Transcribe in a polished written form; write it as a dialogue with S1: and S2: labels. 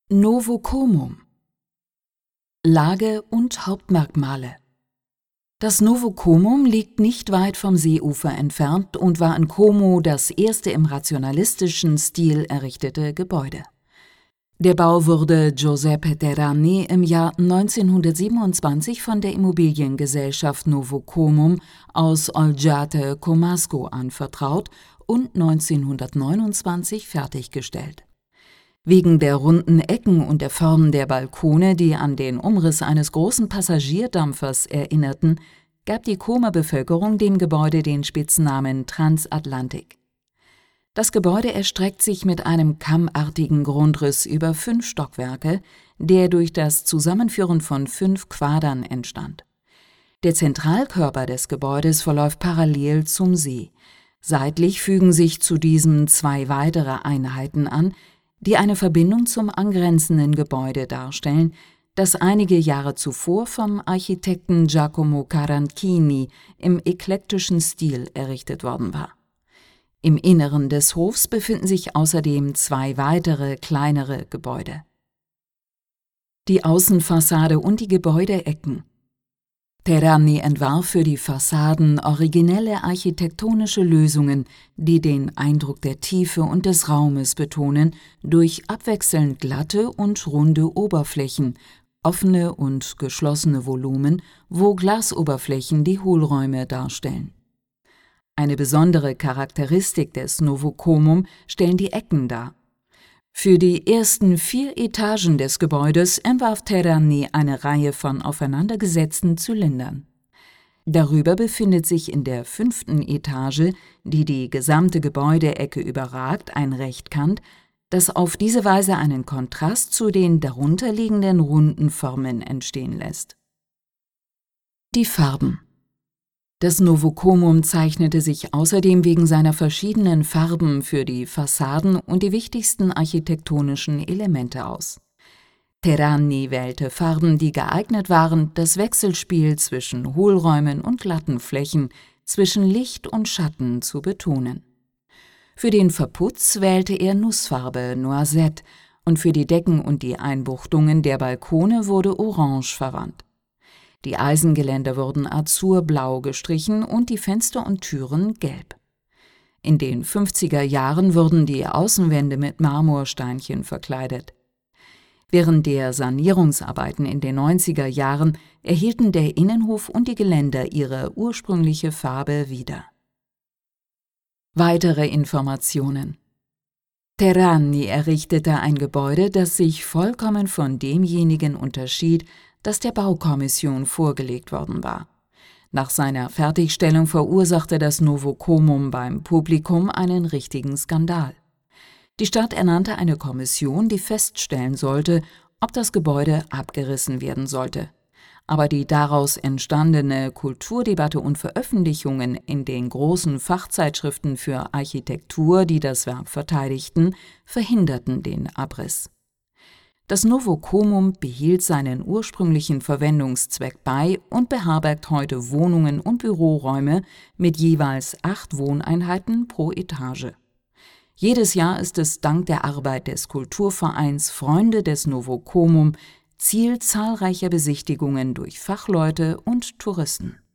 S1: Novocomum. Lage und Hauptmerkmale. Das Novocomum liegt nicht weit vom Seeufer entfernt und war in Como das erste im rationalistischen Stil errichtete Gebäude. Der Bau wurde Giuseppe Terrani im Jahr 1927 von der Immobiliengesellschaft Novocomum aus Olgiate Comasco anvertraut und 1929 fertiggestellt. Wegen der runden Ecken und der Form der Balkone, die an den Umriss eines großen Passagierdampfers erinnerten, gab die Comer Bevölkerung dem Gebäude den Spitznamen Transatlantik. Das Gebäude erstreckt sich mit einem kammartigen Grundriss über 5 Stockwerke, der durch das Zusammenführen von 5 Quadern entstand. Der Zentralkörper des Gebäudes verläuft parallel zum See. Seitlich fügen sich zu diesem 2 weitere Einheiten an, die eine Verbindung zum angrenzenden Gebäude darstellen, das einige Jahre zuvor vom Architekten Giacomo Caranchini im eklektischen Stil errichtet worden war. Im Inneren des Hofs befinden sich außerdem 2 weitere, kleinere Gebäude. Die Außenfassade und die Gebäudeecken. Terrani entwarf für die Fassaden originelle architektonische Lösungen, die den Eindruck der Tiefe und des Raumes betonen, durch abwechselnd glatte und runde Oberflächen, offene und geschlossene Volumen, wo Glasoberflächen die Hohlräume darstellen. Eine besondere Charakteristik des Novocomum stellen die Ecken dar. Für die ersten 4 Etagen des Gebäudes entwarf Terrani eine Reihe von aufeinandergesetzten Zylindern. Darüber befindet sich in der 5. Etage, die die gesamte Gebäudeecke überragt, ein Rechtkant, das auf diese Weise einen Kontrast zu den darunterliegenden runden Formen entstehen lässt. Die Farben. Das Novocomum zeichnete sich außerdem wegen seiner verschiedenen Farben für die Fassaden und die wichtigsten architektonischen Elemente aus. Terrani wählte Farben, die geeignet waren, das Wechselspiel zwischen Hohlräumen und glatten Flächen, zwischen Licht und Schatten zu betonen. Für den Verputz wählte er Nussfarbe Noisette und für die Decken und die Einbuchtungen der Balkone wurde Orange verwandt. Die Eisengeländer wurden azurblau gestrichen und die Fenster und Türen gelb. In den 50er Jahren wurden die Außenwände mit Marmorsteinchen verkleidet. Während der Sanierungsarbeiten in den 90er Jahren erhielten der Innenhof und die Geländer ihre ursprüngliche Farbe wieder. Weitere Informationen. Terrani errichtete ein Gebäude, das sich vollkommen von demjenigen unterschied, das der Baukommission vorgelegt worden war. Nach seiner Fertigstellung verursachte das Novocomum beim Publikum einen richtigen Skandal. Die Stadt ernannte eine Kommission, die feststellen sollte, ob das Gebäude abgerissen werden sollte. Aber die daraus entstandene Kulturdebatte und Veröffentlichungen in den großen Fachzeitschriften für Architektur, die das Werk verteidigten, verhinderten den Abriss. Das Novocomum behielt seinen ursprünglichen Verwendungszweck bei und beherbergt heute Wohnungen und Büroräume mit jeweils 8 Wohneinheiten pro Etage. Jedes Jahr ist es dank der Arbeit des Kulturvereins Freunde des Novocomum Ziel zahlreicher Besichtigungen durch Fachleute und Touristen.